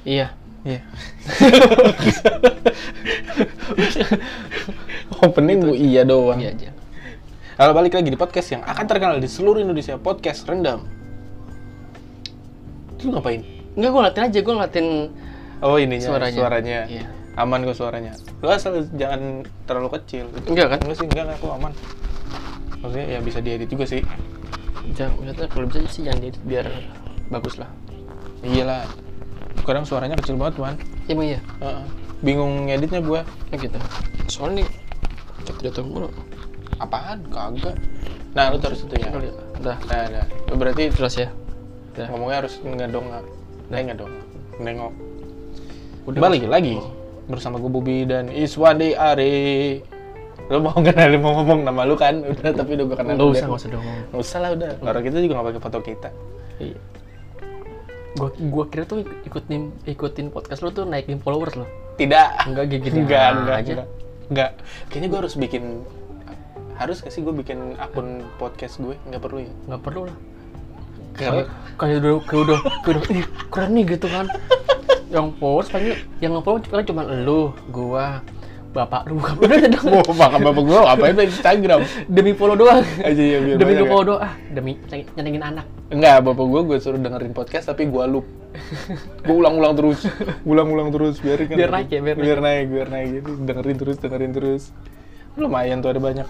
Iya. Opening gue iya doang. Iya aja. Kalau balik lagi di podcast yang akan terkenal di seluruh Indonesia, podcast Rendam. Lu ngapain? Enggak, gue ngeliatin aja, gue ngeliatin Oh ininya, suaranya. Iya. Aman kok suaranya. Lu asal jangan terlalu kecil. Enggak kan? Enggak sih, enggak aku aman. Maksudnya ya bisa diedit juga sih. Maksudnya kalau bisa sih jangan diedit biar bagus lah. Iyalah. Sekarang suaranya kecil banget, Man. Emang iya? Bingung ngeditnya gua. Gitu. Soalnya nih jatuh mulu. Apaan? Kagak. Nah, lu terus itunya. Udah. Nah. Berarti Jelas ya? Udah. ngomongnya harus ngedongak. Ngedongak. Nengok. Udah. Balik lagi bersama gue Bubi dan Iswandi Ari. Lu mau ngomong nama lu kan? Udah, tapi udah gue kenal. Nggak usah dong. Nggak usah lah udah. Orang kita juga nggak pakai foto kita. Iya. Gua kira tuh ikutin podcast lu tuh naikin followers lo. Tidak. Enggak gitu. Enggak. Kayaknya gue harus bikin. Harus nggak sih gue bikin akun podcast gue? Nggak perlu ya? Nggak perlu lah. Karena udah ih, keren nih gitu kan. Yang followers yang nge-follow cuma lu, gua, bapak lu. Udah dong. mau makan bapak gue ngapain di Instagram? Demi follow doang. Aja ya biar Demi banyak follow doang. Demi nyenengin anak. Enggak, bapak gue suruh dengerin podcast tapi gue loop. Gue ulang-ulang terus biarin kan. Biar naik gitu. Dengerin terus. Lumayan tuh ada banyak.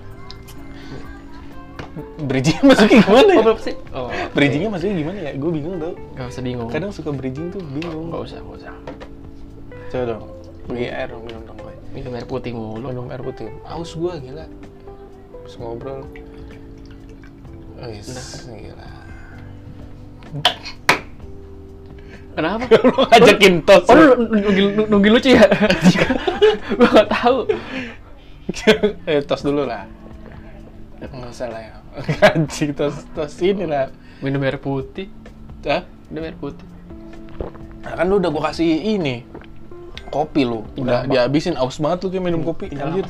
Bridging masuknya gimana ya? Berapa sih? Bridgingnya masuknya gimana ya? Gue bingung tau. Gak usah bingung. Kadang suka bridging tuh bingung. Gak usah. Coba dong. Beli air dong, minum dong gue. Minum air putih mulu. Minum air putih. Aus gue gila. Terus ngobrol. Gila. Kenapa? Lu ngajakin tos. Oh, lu nunggu lucu ya? Gua gak tahu. Tos dulu lah. Nggak usah lah ya. Anjing, tos ini lah. Minum air putih. Hah? Minum air putih. Nah, kan lu udah gua kasih ini. Kopi lu. Udah dihabisin, aus banget lu kayak minum kopi. Anjir.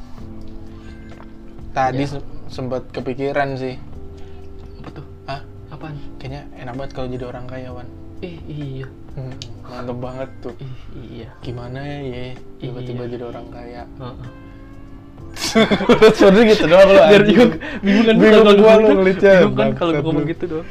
Tadi sempat kepikiran sih. Apa tuh? Hah? Apaan? Kayaknya enak banget kalau jadi orang kaya, Wan. Iya. Mantep banget tuh. Iya. Gimana ya tiba-tiba jadi orang kaya. Sebenernya gitu doang lo. Biar bingung kan gua lu ngelitnya. Bingung kan kalau gua ngomong gitu doang.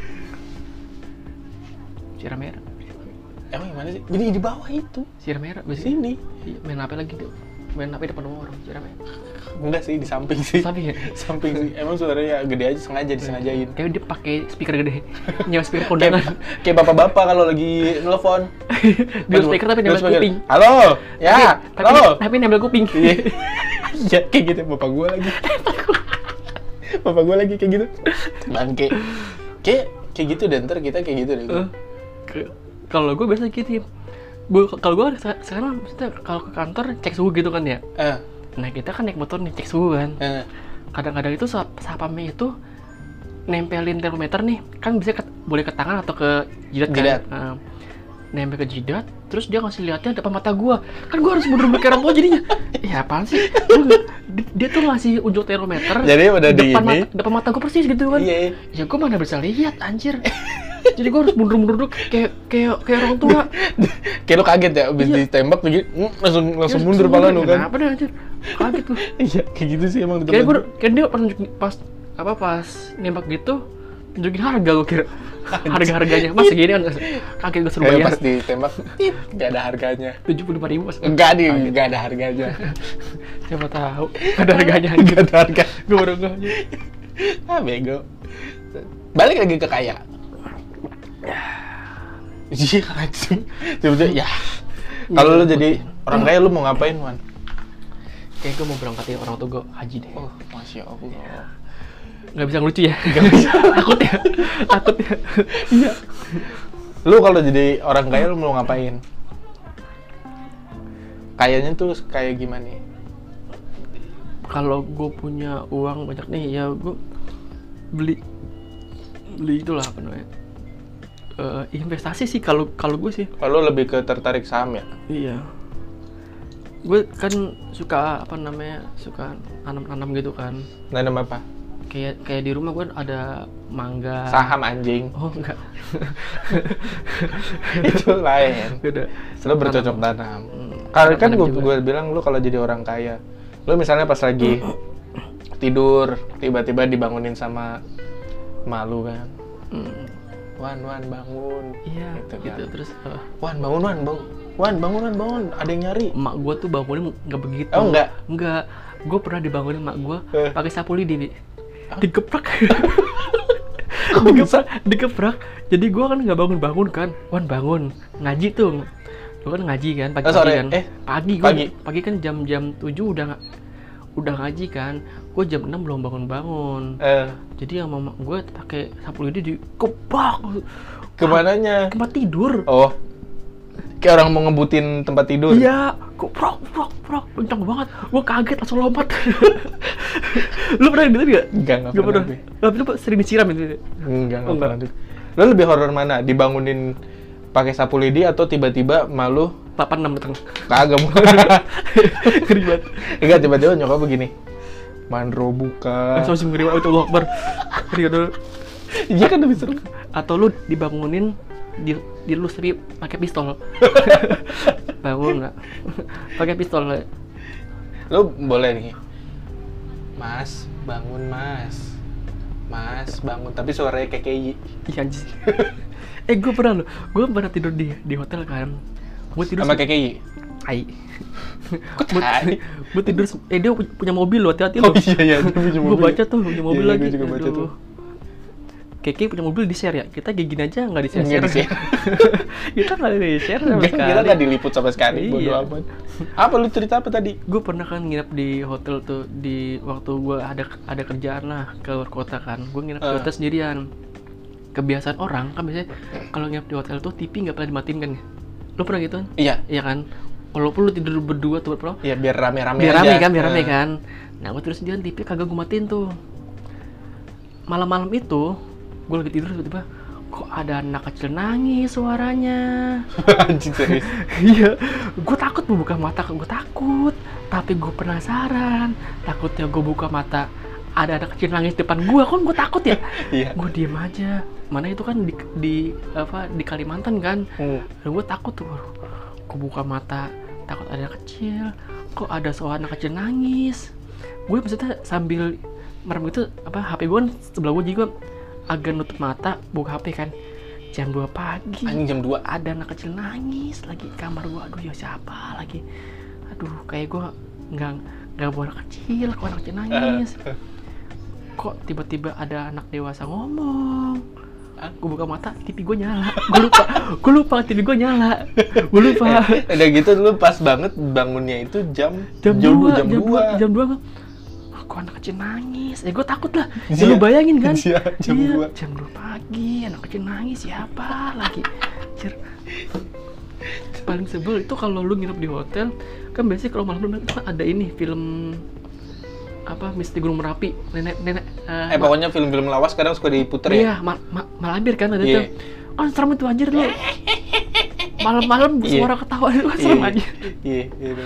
Sirah merah. Emang gimana sih? Jadi di bawah itu. Sirah merah Di sini. Iya, main HP lagi tuh. Main HP depan rumah orang, sirah merah. Enggak sih, di samping sih. Samping ya? Samping sih. Emang suaranya gede aja, disengajain. Kayak dia pakai speaker gede. Nyewa speaker kondangan. Kayak bapak-bapak kalau lagi nelfon. Dia speaker tapi nempel kuping. Halo. Ya. Halo. Tapi nempel kuping. Iya, kayak gitu bapak gue lagi. Bapak gue lagi kayak gitu. Bangke. Kayak gitu deh, ntar kita kayak gitu deh. Kalau gue biasa gitu ya. Kalau gue sekarang maksudnya kalau ke kantor cek suhu gitu kan ya. Nah kita kan naik motor nih cek suhu kan. Kadang-kadang itu satpamnya itu nempelin termometer nih, kan bisa boleh ke tangan atau ke jidat kan. Nempel ke jidat, terus dia ngasih lihatnya depan mata gua. Kan gua harus mundur kayak orang tua jadinya. Apaan sih? Dia tuh ngasih unjuk termometer. Jadi udah depan mata gua persis gitu kan. Iya. Ya gua mana bisa lihat anjir. Jadi gua harus mundur kayak orang tua. Kayak lu kaget ya abis ditembak tuh langsung mundur pala lu kan. Kenapa deh anjir? Kaget lu. Iya, kayak gitu sih emang. Kayak dia pas nembak gitu tunjukin harga gua kira. Harga-harganya mas segini kan kaget gue suruh bayar. Pas ditembak nggak ada harganya. 75.000 mas. Nggak ada harganya. Siapa tahu nggak ada harganya. Nggak ada harga. Gue baru nggaknya. Bego. Balik lagi ke kaya. Iya anjing. Coba ya. Kalau lu jadi orang kaya lu mau ngapain, Man? Kayak gue mau berangkatin orang tua gue haji deh. Oh, Masya Allah. Nggak bisa ngelucu ya? Nggak bisa. Takut ya. Iya. Lu kalau jadi orang kaya lu mau ngapain? Kayaknya tuh kayak gimana? Kalau gue punya uang banyak nih ya gue beli itulah apa namanya? Investasi sih kalau gue sih. Kalau lebih ke tertarik saham ya? Iya. Gue kan suka suka nanam gitu kan. Nanam apa? kayak di rumah gue ada mangga. Saham anjing. Oh enggak. Itu lain. Beda. Lo bercocok tanam. Kalau kan gue bilang lu kalau jadi orang kaya, lu misalnya pas lagi tidur tiba-tiba dibangunin sama malu kan. Wan bangun. Iya. Gitu kan. Terus Wan bangun. Ada yang nyari. Emak gue tuh bangunin nggak begitu. Oh enggak. Gue pernah dibangunin emak gue pakai sapu lidi, digeprak. digeprak. Jadi gue kan nggak bangun kan. Wan bangun ngaji tuh. Lu kan ngaji kan pagi kan. Pagi kan jam 7 udah ngaji kan. Gue jam 6 belum bangun. Jadi yang mama gue pakai sapu lidi dikepak. Kemananya? Tempat tidur. Oh. Kayak orang mau ngebutin tempat tidur. Iya, kok prok, kencang banget. Gue kaget langsung lompat. Lu pernah gitu nggak? Enggak pernah. Tapi lu sering disiram itu? Enggak pernah. Lu lebih horor mana? Dibangunin pakai sapu lidi atau tiba-tiba malu 86 datang? Kagak mau. Ngeri banget. Enggak, tiba-tiba nyokap begini. Mandro buka. Langsung ngeri banget, Allah Akbar. Ngeri dulu. Iya kan lebih seru. Atau lu dibangunin dilus tapi pakai pistol. Bangun nggak? Pakai pistol nggak? Lu boleh nih. Mas, bangun mas. Mas, bangun. Tapi suaranya kayak KKI. Iya anjir. Gue pernah tidur di hotel kan. Gue tidur sama KKI. Hai. Gue tidur. Dia punya mobil loh, hati-hati lo. Oh iya, dia punya mobil. Gue baca tuh punya mobil lagi. Gue juga baca tuh. Keke punya mobil di-share ya? Kita kayak gini aja nggak di-share. Kita nggak di-share sama sekali. Kita nggak diliput sama sekali, bodo amat. Apa lu cerita apa tadi? Gue pernah kan nginep di hotel tuh di waktu gue ada kerjaan lah ke luar kota kan. Gue nginep di hotel sendirian. Kebiasaan orang kan biasanya kalau nginep di hotel tuh TV nggak pernah dimatiin kan? Lu pernah gitu kan? Iya. Iya kan? Walaupun lu tidur berdua tuh bro. Iya biar rame-rame biar aja. Biar rame kan. Nah gue tidur sendirian, TV kagak gue matiin tuh. Malam-malam itu gue lagi tidur tiba-tiba kok ada anak kecil nangis suaranya. Anjing serius. Iya, gue takut buka mata, gue takut. Tapi gue penasaran. Takutnya gue buka mata ada anak kecil nangis depan gue, kan gue takut ya. Iya. Gue diem aja. Mana itu kan di Kalimantan kan. Dan gue takut tuh. Gue buka mata, takut ada anak kecil. Kok ada suara anak kecil nangis. Gue maksudnya sambil merem gitu HP gue kan sebelah gue, jadi gue agak nutup mata, buka HP kan. Jam 2 pagi. Anjing jam 2. Ada anak kecil nangis lagi di kamar gua. Aduh ya siapa lagi? Aduh kayak gua nggak bawa anak kecil, kok anak kecil nangis. Kok tiba-tiba ada anak dewasa ngomong. Gue buka mata, TV gue nyala. Gue lupa TV gue nyala. Gue lupa. Udah gitu lu pas banget bangunnya itu jam 2. Kok anak kecil nangis? Gue takut lah. Ya lu bayangin kan? Jam 2 pagi, anak kecil nangis, siapa lagi? Paling sebel itu kalau lu nginep di hotel, kan biasanya kalau malam itu kan ada ini film Misteri Gunung Merapi, nenek. Pokoknya film-film lawas kadang suka diputer Iya, ya. Malabir kan ada tuh. Oh, serem itu anjir lu. Malam-malam suara ketawa itu kan serem aja. Iya.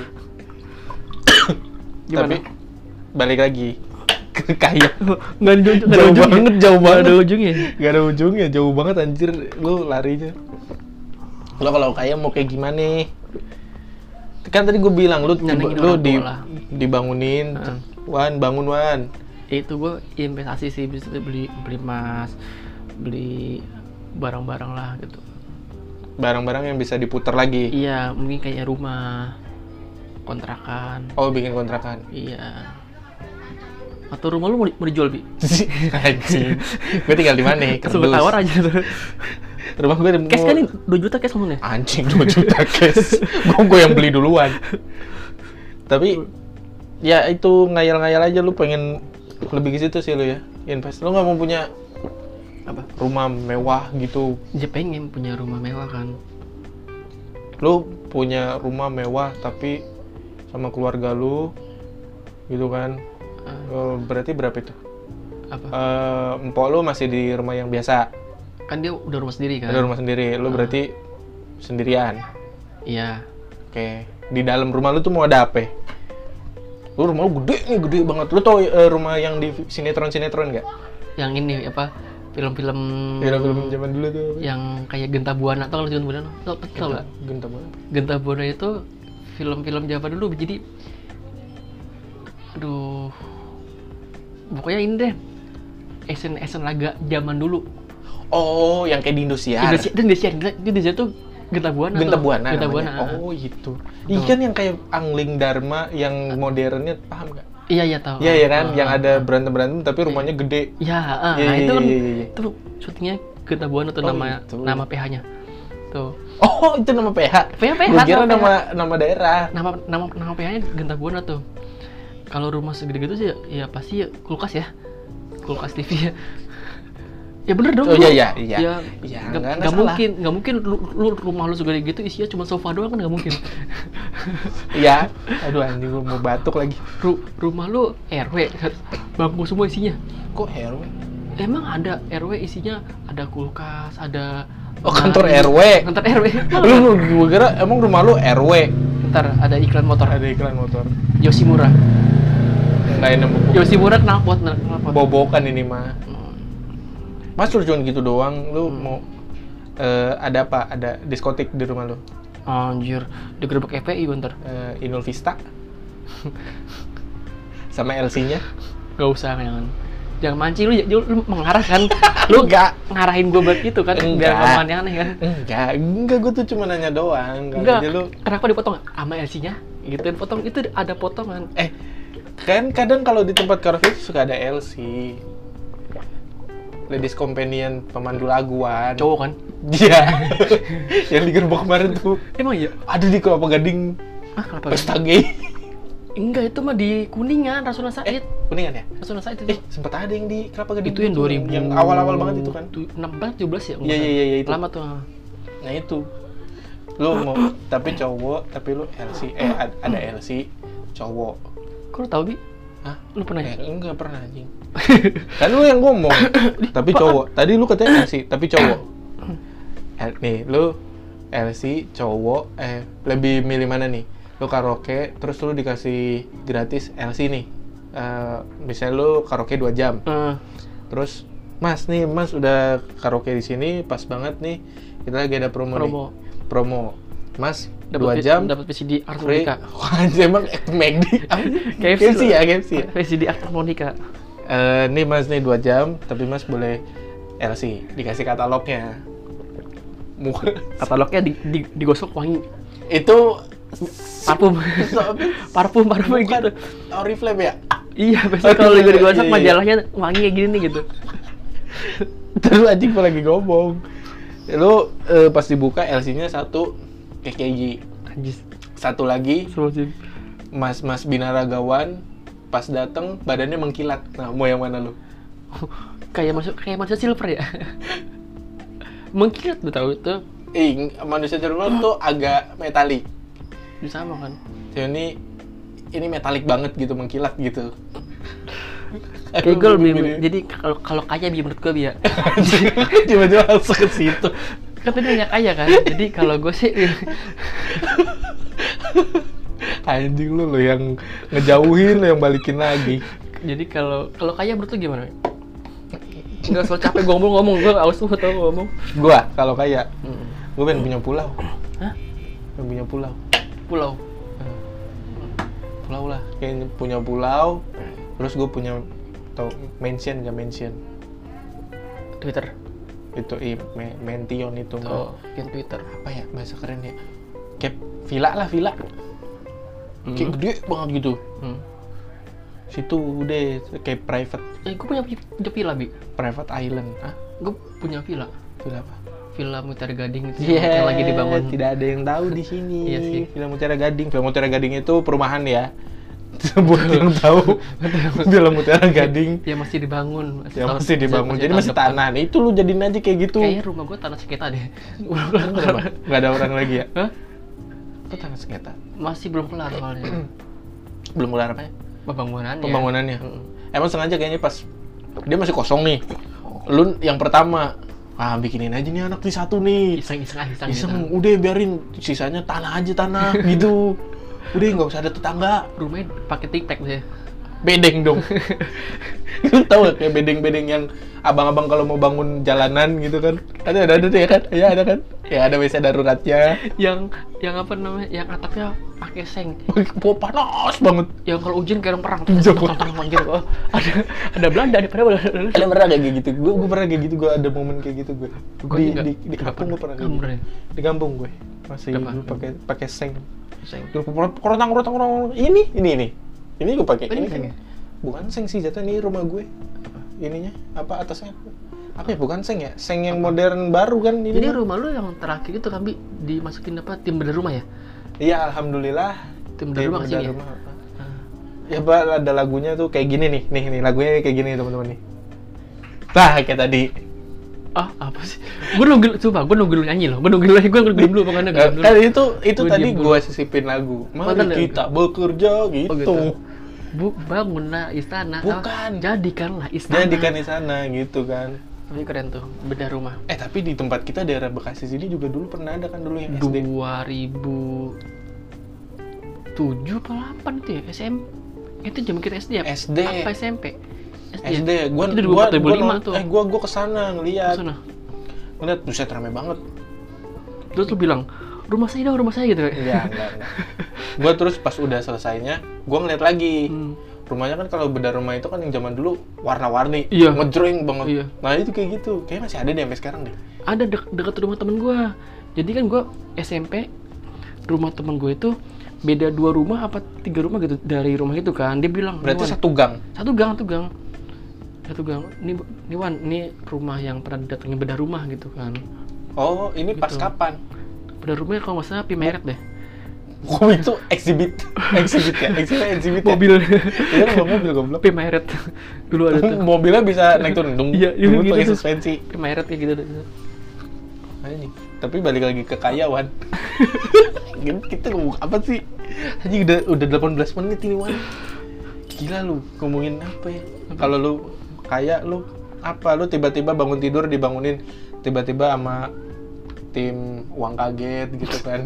Gimana? Tapi balik lagi ke kaya. Nggak ada ujungnya. Jauh banget. Nggak ada ujungnya. Jauh banget anjir lu larinya. Lo kalau kaya mau kayak gimana? Kan tadi gue bilang lu dibangunin. Wan, bangun Wan. Itu gue investasi sih, bisa beli emas, beli barang-barang lah gitu. Barang-barang yang bisa diputar lagi. Iya, mungkin kayak rumah, kontrakan. Oh, bikin kontrakan. Iya. Atau rumah lu mau dijual, Bi? Anjing. Gue tinggal di mana? Langsung tawar aja tuh. Rumah gue cash kan nih, 2 juta cash ngomongnya. Anjing, 2 juta cash. Gue yang beli duluan. Tapi ya itu ngayal-ngayal aja, lu pengen lebih ke situ sih lu ya. Invest. Lu enggak mau punya rumah mewah gitu. Ya pengen punya rumah mewah kan. Lu punya rumah mewah tapi sama keluarga lu gitu kan. Berarti berapa itu? Empok lu masih di rumah yang biasa. Kan dia udah rumah sendiri kan. Udah rumah sendiri. Lu berarti sendirian. Iya. Oke. Di dalam rumah lu tuh mau ada apa? Lu rumah lu gede nih, gede banget. Lu tau rumah yang di sinetron-sinetron nggak? Yang ini apa? Film-film zaman dulu tuh. Yang kayak Genta Buana, tau Genta Buana? Tau nggak? Genta Buana. Genta Buana itu film-film zaman dulu, jadi aduh, pokoknya ini deh, Asian laga zaman dulu. Oh, yang kayak di Indosiar. Indosiar tuh Genta Buana. Genta Buana. Genta Buana. Oh, gitu. Ikan yang kayak Angling Dharma yang modernnya, paham nggak? Iya tahu. Iya kan, yang ada berantem tapi rumahnya gede. Iya, nah itu kan itu syutingnya Genta Buana tuh, nama PH-nya. Tuh. Oh, itu nama PH. PH. Gua kira nama daerah. Nama PH-nya Genta Buana tuh. Kalau rumah segede gitu sih ya pasti ya kulkas ya. Kulkas TV ya. Ya bener dong. Oh iya. Ya nggak mungkin lu rumah lu segede gitu isinya cuma sofa doang, kan nggak mungkin. Iya. Aduh anjing, gua mau batuk lagi. Rumah lu RW, bangku semua isinya. Kok RW? Emang ada RW isinya, ada kulkas, ada kantor RW. Kantor RW. Gua kira emang rumah lu RW. Ntar ada iklan motor. Yoshimura. Enggak enak. Yoshimura knalpot. Bobokan ini mah. Mas lu cuma gitu doang, lu mau ada apa? Ada diskotik di rumah lu? Anjir, digerebek FPI bentar. Inul Vista sama LC-nya? Gak usah, jangan mancing lu mengarah kan. Lu gak ngarahin gue buat itu kan, biar gak aneh-aneh kan. Enggak, gue tuh cuma nanya doang. Enggak, kenapa dipotong sama LC-nya? Gituin potong, itu ada potongan. Kan kadang kalau di tempat karaoke suka ada LC. Ladies Companion, pemandu laguan. Cowok kan? Iya. Yang digerebek kemarin tuh. Emang iya? Ada di Kelapa Gading. Kelapa Gading? Pesta gay. Enggak, itu mah di Kuningan, Rasuna Said. Kuningan ya? Rasuna Said itu. Sempat ada yang di Kelapa Gading. Itu yang 2000. Yang awal-awal banget itu kan? 16, 17 ya? Iya itu. Lama tuh. Nah itu. Lu mau, tapi cowok, tapi lu LC. Ada LC, cowok. Kok lu tau, Bi? Hah? Lu pernah ya? Enggak pernah, anjing. Kan lu yang ngomong, tapi cowok. Tadi lu katanya LC, tapi cowok. Nih, lu LC, cowok, lebih milih mana nih? Lu karaoke, terus lu dikasih gratis LC nih. Misalnya lu karaoke 2 jam. Terus, Mas udah karaoke di sini, pas banget nih. Kita lagi ada promo. Mas, 2 jam dapat VCD harmonika. Emang McD? KFC ya? VCD harmonika. Nih Mas, 2 jam, tapi Mas boleh LC, dikasih katalognya. Katalognya digosok wangi. Itu parfum gitu. Oriflame ya? Iya, biasanya kalau digosok majalahnya wangi kayak gini nih gitu. Terus anjing lagi ngomong. Lu pas dibuka LC-nya 1 KKG. Anjis. 1 lagi Mas Binaragawan, pas dateng badannya mengkilat. Nah, mau yang mana lu? Kayak manusia silver ya. Mengkilat, lu tahu itu? Manusia silver tuh agak metalik. Sama kan? Ini metalik banget gitu, mengkilat gitu. Jadi kalau kaya menurut gue ya. Tiba-tiba langsung ke situ. Kan tadi nggak kaya kan, jadi kalau gue sih anjing lu yang ngejauhin, lu yang balikin lagi. Jadi kalau kaya menurut lu gimana? Nggak soal capek gue ngomong, gue aus tuh tau ngomong. Gue kalau kaya, gue pengen punya pulau. Hah? Pengen punya pulau. Pulau lah. Kayak punya pulau, terus gue punya mansion. Twitter. Itu Mention itu yang Twitter apa ya bahasa keren ya, kayak villa kayak gede banget gitu. Situ deh kayak private. Gue punya villa, Bi. Private island. Gue punya villa apa? Villa Mutiara Gading itu yang lagi dibangun. Tidak ada yang tahu di sini. Iya sih. Villa Mutiara Gading itu perumahan ya. Buat yang tahu, Villa Mutiara Gading ya masih dibangun. Masih dibangun. Jadi masih tanah. Nih, itu lu jadiin aja kayak gitu. Kayaknya rumah gue tanah sengketa deh. Nggak ada orang lagi ya? Hah? Itu tanah sengketa? Masih belum kelar soalnya. Belum kelar apa ya? Pembangunannya. Emang sengaja kayaknya pas dia masih kosong nih. Lu yang pertama, bikinin aja nih anak nih 1 nih. Iseng. Udah biarin sisanya tanah gitu. Udah nggak usah ada tetangga. Rumahnya pakai tic-tac deh. Bedeng dong. Lu tahu gak kayak bedeng-bedeng yang abang-abang kalau mau bangun jalanan gitu kan? Ada tuh ya kan? Ya ada kan? Ya ada WC daruratnya. Yang apa namanya? Yang atapnya pakai seng. Panas banget. Yang kalau hujan kayak orang perang. Tang gitu. Oh, ada Belanda di padahal. Kalian pernah kayak gitu? Gue pernah kayak gitu. Gue ada momen kayak gitu gue. Di kampung gue pernah kayak gitu. Di kampung gue masih dulu pakai seng. Dulu korotang. Ini gue pakai ini kan. Bukan seng sih jatuh, ini rumah gue. Ininya apa atasnya? Apa ya, bukan seng ya? Seng yang modern baru kan ini. Jadi rumah lu yang terakhir itu kan dimasukin apa? Tim bedah rumah ya? Iya, alhamdulillah. Tim bedah rumah kesini ya? Ya, Pak, ada lagunya tuh kayak gini nih. Nih lagunya kayak gini teman-teman nih. Nah, kayak tadi. Ah, apa sih? Gue nunggu lu nyanyi loh. Gue nunggu dulu pokoknya. Kan itu tadi gue sisipin lagu. Mari kita bekerja gitu. Oh, gitu. Bangunlah istana. Bukan. Jadikanlah istana. Jadikan istana gitu kan. Tapi keren tuh, bedah rumah. Tapi di tempat kita daerah Bekasi sini juga dulu pernah ada kan dulu yang SD. 2007 apa 8 itu ya? Itu zaman kita SD ya? SD. Apa SMP? SD. Gua kesana ngeliat. Ngeliat, buset rame banget. Terus lu bilang, rumah saya gitu kan? Iya, enggak. Gua terus pas udah selesainya, gua ngeliat lagi. Rumahnya kan kalau bedah rumah itu kan yang zaman dulu warna-warni, ngejreng banget. Iya. Nah itu kayak gitu, kayaknya masih ada deh sampai sekarang deh. Ada dekat rumah temen gue. Jadi kan gue SMP, rumah temen gue itu beda 2 rumah apa 3 rumah gitu dari rumah itu kan. Dia bilang, berarti satu gang. Satu gang. Ini Wan, ini rumah yang pernah datengin bedah rumah gitu kan. Oh, ini gitu. Pas kapan? Bedah rumahnya kalau nggak salah Pimeret deh. Oh itu exhibit ya? Exhibit mobil. Iya kan mobil goblok. Pimeret. Dulu ada tuh. Mobilnya bisa naik turun. Iya, gitu. Pakai tuh. suspensi. Pimeret kayak gitu. Anjing. Tapi balik lagi ke kaya, Wan. Kita ngomong apa sih? Anjing udah 18 menit ini, Wan. Gila lu, ngomongin apa ya? Kalau lu kaya lu apa? Lu tiba-tiba bangun tidur dibangunin tiba-tiba sama tim uang kaget gitu kan.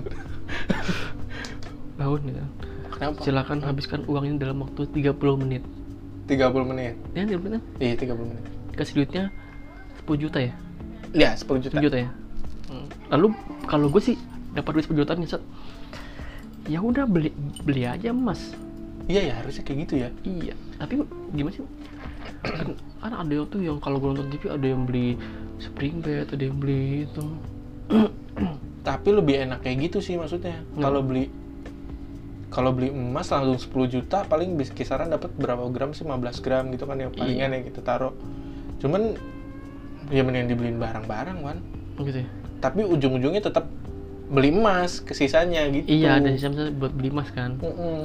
Bangun ya. Kenapa? Silakan habiskan uangnya dalam waktu 30 menit. 30 menit? Ya, 30 menit? Iya, 30 menit. Kasih duitnya 10 juta ya? Iya, 10 juta. 10 juta ya? Lalu, kalau gue sih dapat duit 10 juta nih, ya udah beli aja emas. Iya ya, harusnya kayak gitu ya. Iya, tapi gimana sih? Kan ada yang tuh yang kalau gue nonton TV ada yang beli spring bed, ada yang beli itu. Tapi lebih enak kayak gitu sih maksudnya. Kalau beli emas langsung 10 juta paling bisa kisaran dapat berapa gram sih, 15 gram gitu kan yang palingan yang kita taruh. Cuman ya mending dibeliin barang-barang kan. Gitu ya. Tapi ujung-ujungnya tetap beli emas ke sisanya gitu. Iya, ada sisa buat beli emas kan.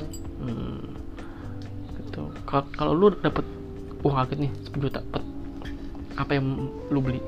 Gitu. Kalau lu dapat uang kaget nih 10 juta, apa yang lu beli?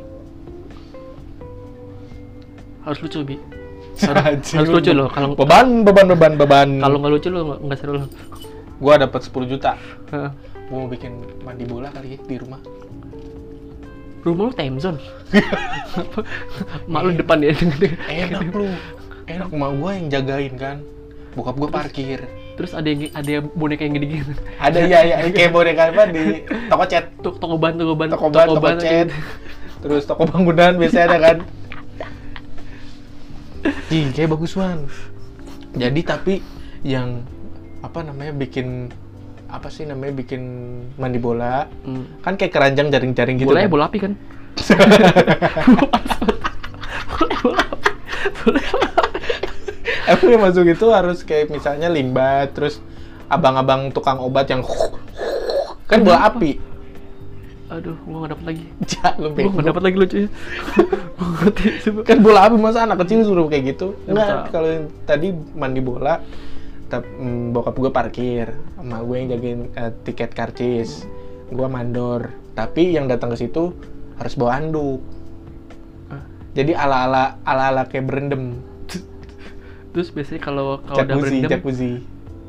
Harus lucu, Bi. Harus lucu loh. Kalau beban. Kalau nggak lucu lo nggak seru lo. Gua dapat 10 juta. Gua mau bikin mandi bola kali ya di rumah. Rumah lu time zone. Mak lu depan ya. Enak lu. Enak, mak gua yang jagain kan. Bokap gua parkir. Terus ada boneka yang gede-gede. Ada ya kayak boneka apa di toko cat. Toko ban, toko cat. Terus toko bangunan biasanya ada kan. Kayak bagus banget. Jadi tapi yang bikin mandi bola kan kayak keranjang jaring-jaring gitu. Bolanya kan? bola api kan? Emang yang masuk itu harus kayak misalnya limbat, terus abang-abang tukang obat yang kan bola api. Aduh, gua nggak dapet lagi. Gua nggak dapet lagi lucunya. Gua ngerti. Kan bola api masa anak kecil suruh kayak gitu? Enggak, kalau yang tadi mandi bola, bokap gue parkir, sama gue yang jagain tiket karcis, gue mandor. Tapi yang datang ke situ harus bawa anduk. Jadi ala kayak berendam. Terus biasanya kalau udah berendam, jacuzzi.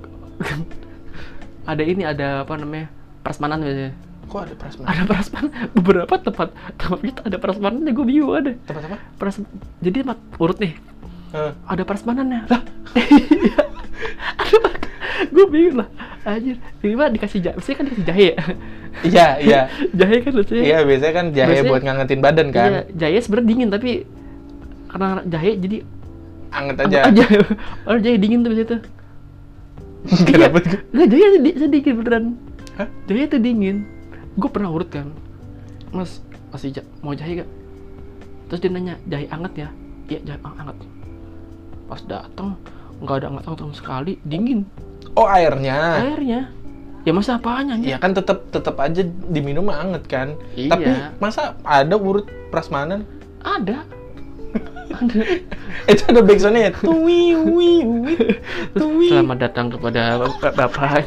ada apa namanya, prasmanan biasanya. Kok ada prasmanan? Ada prasmanan. Beberapa tempat kita ada prasmanannya, gue bingung ada. Tempat apa? Jadi urut nih. Ada prasmanannya. Lah. Ada Gue bingung lah, anjir. Tiba-tiba dikasih jahe, biasanya kan dikasih jahe ya. Iya. Jahe kan biasanya. Iya, biasanya kan jahe buat ngangetin badan kan. Iya, jahe sebenarnya dingin tapi karena jahe jadi anget aja. Padahal jahe dingin tuh biasanya tuh. Kenapa tuh? Enggak, jahe sedikit beneran. Hah? Jahe tuh dingin. Gue pernah urut kan, Mas, masih mau jahe gak? Terus dia nanya, jahe anget ya? Iya, jahe anget. Pas datang nggak ada anget sama sekali, dingin. Oh, airnya. Ya masa apanya? Iya kan tetap aja diminum anget kan. Iya. Tapi masa ada urut prasmanan? Ada. Itu ada backsoundnya ya. Tuwi wi wi tuwi. Selamat datang kepada Bapak.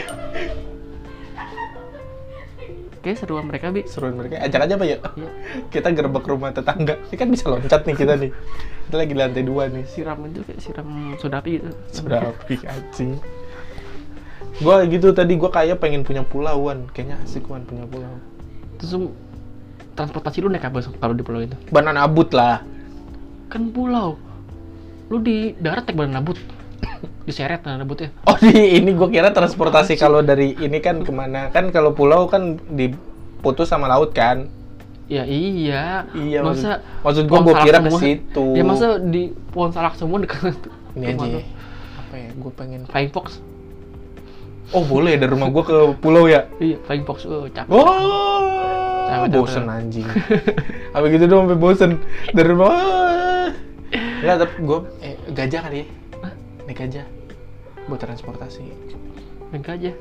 Oke, seruan mereka, Bi. Seruan mereka. Ajak aja, Pak ya. Iya. Kita gerbek rumah tetangga. Ini kan bisa loncat nih kita nih. Kita lagi di lantai 2 nih. Siram itu kayak siram soda api gitu. Soda api anjing. Gua gitu tadi, gua kayak pengen punya pulau, Wan. Kayaknya asik, Wan, punya pulau. Terus transportasi lu naik apa kalau di pulau itu? Banana abut lah. Kan pulau. Lu di darat naik banana abut. Diseret banana abutnya. Oh, ini gua kira transportasi kalau dari ini kan kemana? Kan kalau pulau kan diputus sama laut kan? Ya iya. Iya, masa maksud gua kira ke situ. Ya masa di Pohon Salak semua dekat ini aja. Apa ya? Gua pengen Flying Fox. Oh, boleh dari rumah gua ke pulau ya? Iya, Flying Fox. Capek. Oh, bosen anjing. Apa gitu doang sampai bosen dari rumah. Enggak, tapi gua gajah kali ya. Hah? Naik gajah buat transportasi. Naik aja.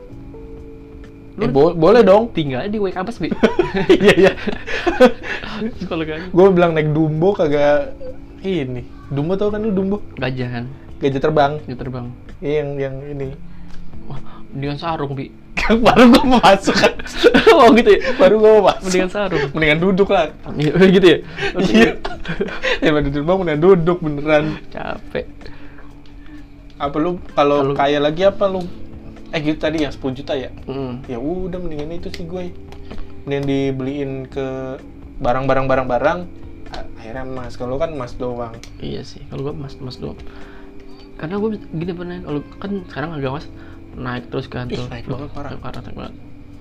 Boleh dong. Tinggal di Wake Campus, Bi. Iya. Kalau gajah. Gue bilang naik Dumbo kagak ini. Dumbo tau kan lu Dumbo? Gajah kan. Gajah terbang. Dia terbang. Iya yang ini. Wah, mendingan sarung, Bi. Baru gue mau masuk kan. Oh gitu ya? Baru gue mau masuk. Mendingan sarung. Mendingan duduk lah. Iya, gitu ya? Iya. Daripada terbang mendingan duduk beneran. Capek. Apa lu kalau kaya lagi apa lu? Gitu tadi yang 10 juta ya? Ya udah mendingan itu sih gue. Mendingan dibeliin ke barang-barang. Akhirnya emas. Kalau kan emas doang. Iya sih. Kalau gue emas doang. Karena gue gini pernah, kalau kan sekarang harga emas naik terus kan tuh. Naik banget parah. Naik banget.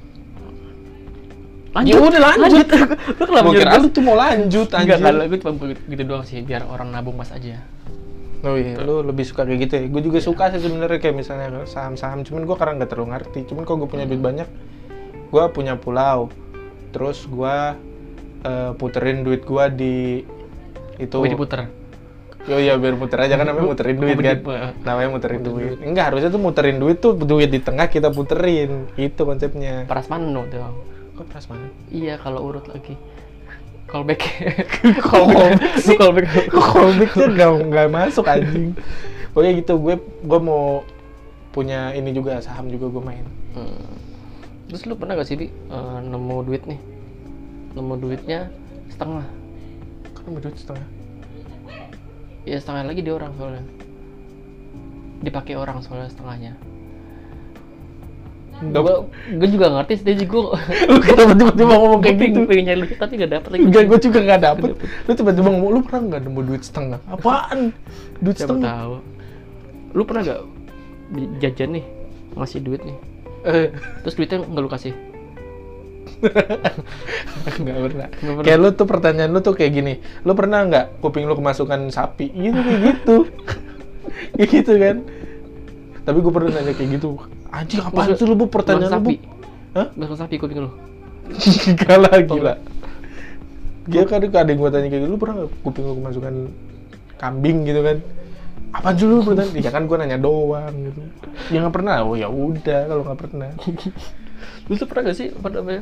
Ya udah lanjut. Lu kenapa Gue kira lu tuh mau lanjut anjir. Enggak, kalau gue cuma gitu doang sih, biar orang nabung emas aja. Oh iya, lu lebih suka kayak gitu ya? Gue juga suka sih sebenarnya kayak misalnya saham-saham, cuman gue karena nggak terlalu ngerti. Cuman kalau gue punya duit banyak, gue punya pulau, terus gue puterin duit gue di itu. Oh, diputer. Oh iya, biar muter aja kan namanya muterin duit kan? Namanya muterin duit. Enggak, harusnya tuh muterin duit tuh duit di tengah kita puterin, itu konsepnya. Prasmanan dong tuh. Kok prasmanan? Iya, kalau urut lagi. Callback. Callbacknya nggak masuk anjing. Pokoknya gitu, gue mau punya ini juga, saham juga gue main. Terus lu pernah gak sih, Bi, nemu duit nih? Nemu duitnya setengah. Kan nemu duit setengah? Iya, setengah lagi di orang soalnya. Dipakai orang soalnya setengahnya. Gue juga ngerti sih, gue tiba-tiba ngomong kayak gitu. Pengen nyari duit tapi gak dapet lagi. Enggak, gue juga gak dapet. Lu tiba-tiba ngomong, lu pernah gak nemu duit setengah? Apaan? Duit Siapa setengah? tahu. Lu pernah gak jajan nih, ngasih duit nih, terus duitnya gak lu kasih? Nggak pernah. Kayak lu tuh, pertanyaan lu tuh kayak gini, lu pernah nggak kuping lu kemasukan sapi? Gitu, kayak gitu. Kayak gitu kan. Tapi gue pernah nanya kayak gitu. Anjing, apaan sih lu, Bu, pertanyaan lu, Bu? Hah? Masuk sapi kuping lu? Gak lah, gila. Dia kan ada yang gue tanya kayak gitu, lu pernah nggak kuping lu kemasukan kambing gitu kan? Apaan sih lu pertanyaan? Ya kan gue nanya doang gitu. Ya nggak pernah. Oh ya udah, kalau nggak pernah. Lu tuh pernah gak sih, apa namanya,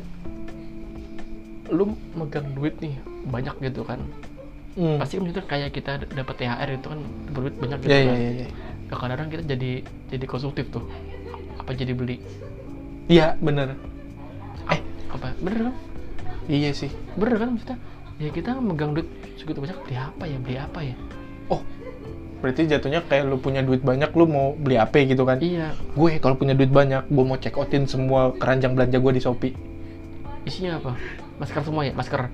lu megang duit nih banyak gitu kan, pasti kan itu kayak kita dapat THR itu kan berduit banyak gitu kan. Iya. Kadang-kadang kita jadi konsumtif tuh, apa jadi beli. Iya bener. Apa bener kan? Iya sih. Bener kan maksudnya, ya kita megang duit segitu banyak, beli apa ya. Oh, berarti jatuhnya kayak lu punya duit banyak, lu mau beli apa gitu kan? Iya. Gue kalau punya duit banyak, gue mau check outin semua keranjang belanja gue di Shopee. Isinya apa? Masker semua ya? Masker?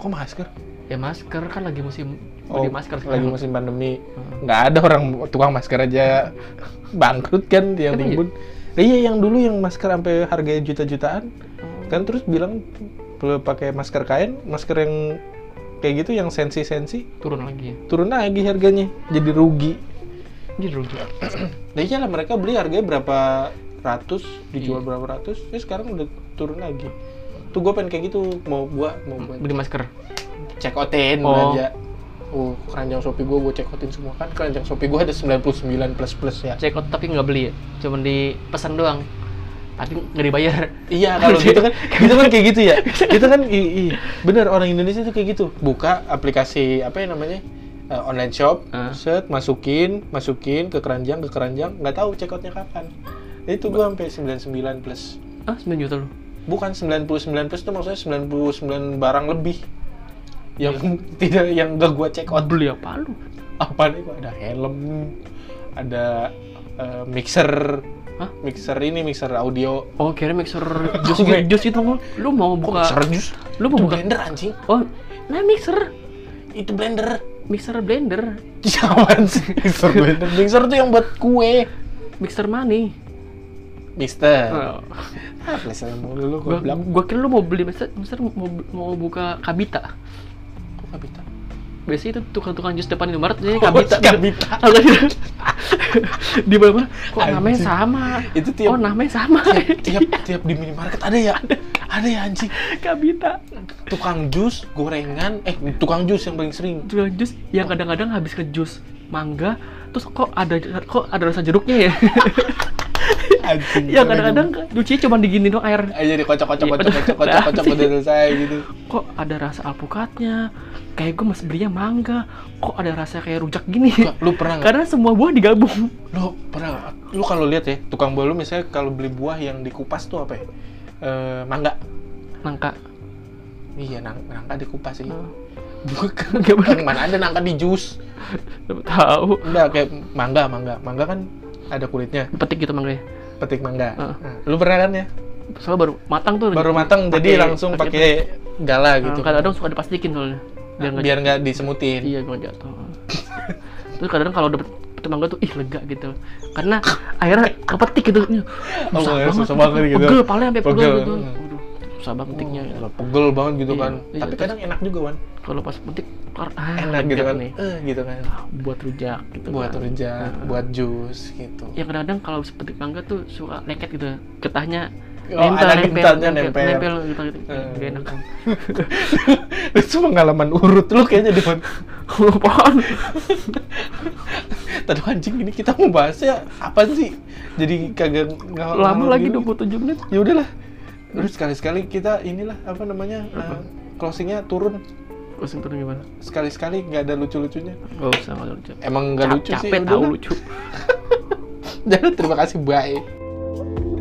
Kok masker? Ya masker kan lagi musim beli masker lagi sekarang. musim pandemi. Nggak ada orang tukang masker aja bangkrut kan yang Emang timbun. Iya yang dulu yang masker sampai harganya juta-jutaan. Kan terus bilang perlu pakai masker kain, masker yang kayak gitu yang sensi-sensi Turun lagi ya. turun lagi harganya. Jadi rugi. Jadi rugi. Nah iyalah mereka beli harganya berapa ratus, dijual Iya. berapa ratus, sekarang udah turun lagi. Tuh gue pengen kayak gitu, mau buat Beli masker. check outin belanja. Keranjang Shopee gue check outin semua kan. Keranjang Shopee gue ada 99 plus ya. Check out tapi nggak beli ya. Cuman dipesan doang. Tapi nggak dibayar. Iya kalau gitu kan, gitu kan kayak gitu ya. Kita kan bener orang Indonesia tuh kayak gitu. Buka aplikasi apa ya namanya online shop, set masukin ke keranjang, nggak tahu check outnya kapan. Itu gue sampai 99 plus. 9 juta lu. Bukan 99 plus itu maksudnya 99 barang lebih. Yang tidak yang gak gua check out. Beli apa lu? Apa nih? Ada helm, ada mixer. Hah? Mixer audio. Oh, kira mixer jus itu lu mau buka. Mixer jus? Lu mau Itu buka blender anjing. Oh, nah mixer Itu blender. blender. Jangan sih mixer blender. Mixer tuh yang buat kue. Mixer money. Mister. Oh. Plesetan mulu lu gua bilang. Gua kira lu mau beli mixer mau buka Kabita. Kok nggak bisa? Biasanya itu tukang-tukang jus depan Indomaret jadi Kabita. Kabita. Di mana? Kok namanya Anjing. sama? Itu tiap- Oh, namanya sama. tiap di minimarket ada ya? Ada ya anjing. Kabita. Tukang jus, gorengan, tukang jus yang paling sering. Tukang jus yang kadang-kadang habis ke jus mangga, terus kok ada rasa jeruknya ya? Anjing. Ya kadang-kadang nyucinya cuma digini doang air. Aja dikocok-kocok Iya. udah selesai gitu. Kok ada rasa alpukatnya? Kayak gue masih belinya mangga. Kok ada rasa kayak rujak gini? Lu pernah nggak? Karena semua buah digabung. Lu kalau lihat ya, tukang buah lu misalnya kalau beli buah yang dikupas tuh apa ya? Mangga. Nangka. Iya, nangka dikupas sih. Oh. Bukan. Nggak bener. Mana ada nangka di jus. Tahu. Enggak, kayak mangga. Mangga kan ada kulitnya. Petik gitu mangganya. Petik mangga. Heeh. Nah, lu pernah kan ya? Soalnya baru matang tuh. Baru matang jadi langsung pakai gala gitu. Kadang-kadang suka diplastikin soalnya. Biar nggak disemutin. Iya, gue jatuh. Terus kadang kalau dapet mangga tuh lega gitu. Karena akhirnya kepetik gitu. Susah banget gitu. Pegel, palanya sampai pegel Pegel. gitu. Waduh, susah banget petiknya. Gitu. Pegel banget gitu Iya, kan. iya, Tapi terus- kadang enak juga, Wan. Kalau pas petik Enak gitu lega kan. nih. Gitu kan. Buat rujak gitu. Buat kan. rujak, Nah. buat jus gitu. Ya kadang-kadang kalau petik mangga tuh suka leket gitu. Getahnya Ada getahnya nempel. gitu. Gak enak kan. Itu pengalaman urut lu kayaknya di Apaan? Tadi anjing ini kita mau bahasnya apa sih? Jadi kagak Lama lagi 27 menit. Ya udahlah. Terus sekali-sekali kita inilah apa namanya? Closingnya turun. Closing turun gimana? Sekali-sekali nggak ada lucu-lucunya. Gak usah, gak lucu. Emang nggak lucu sih. Capek udah tahu lah. lucu. Jadi terima kasih, bye.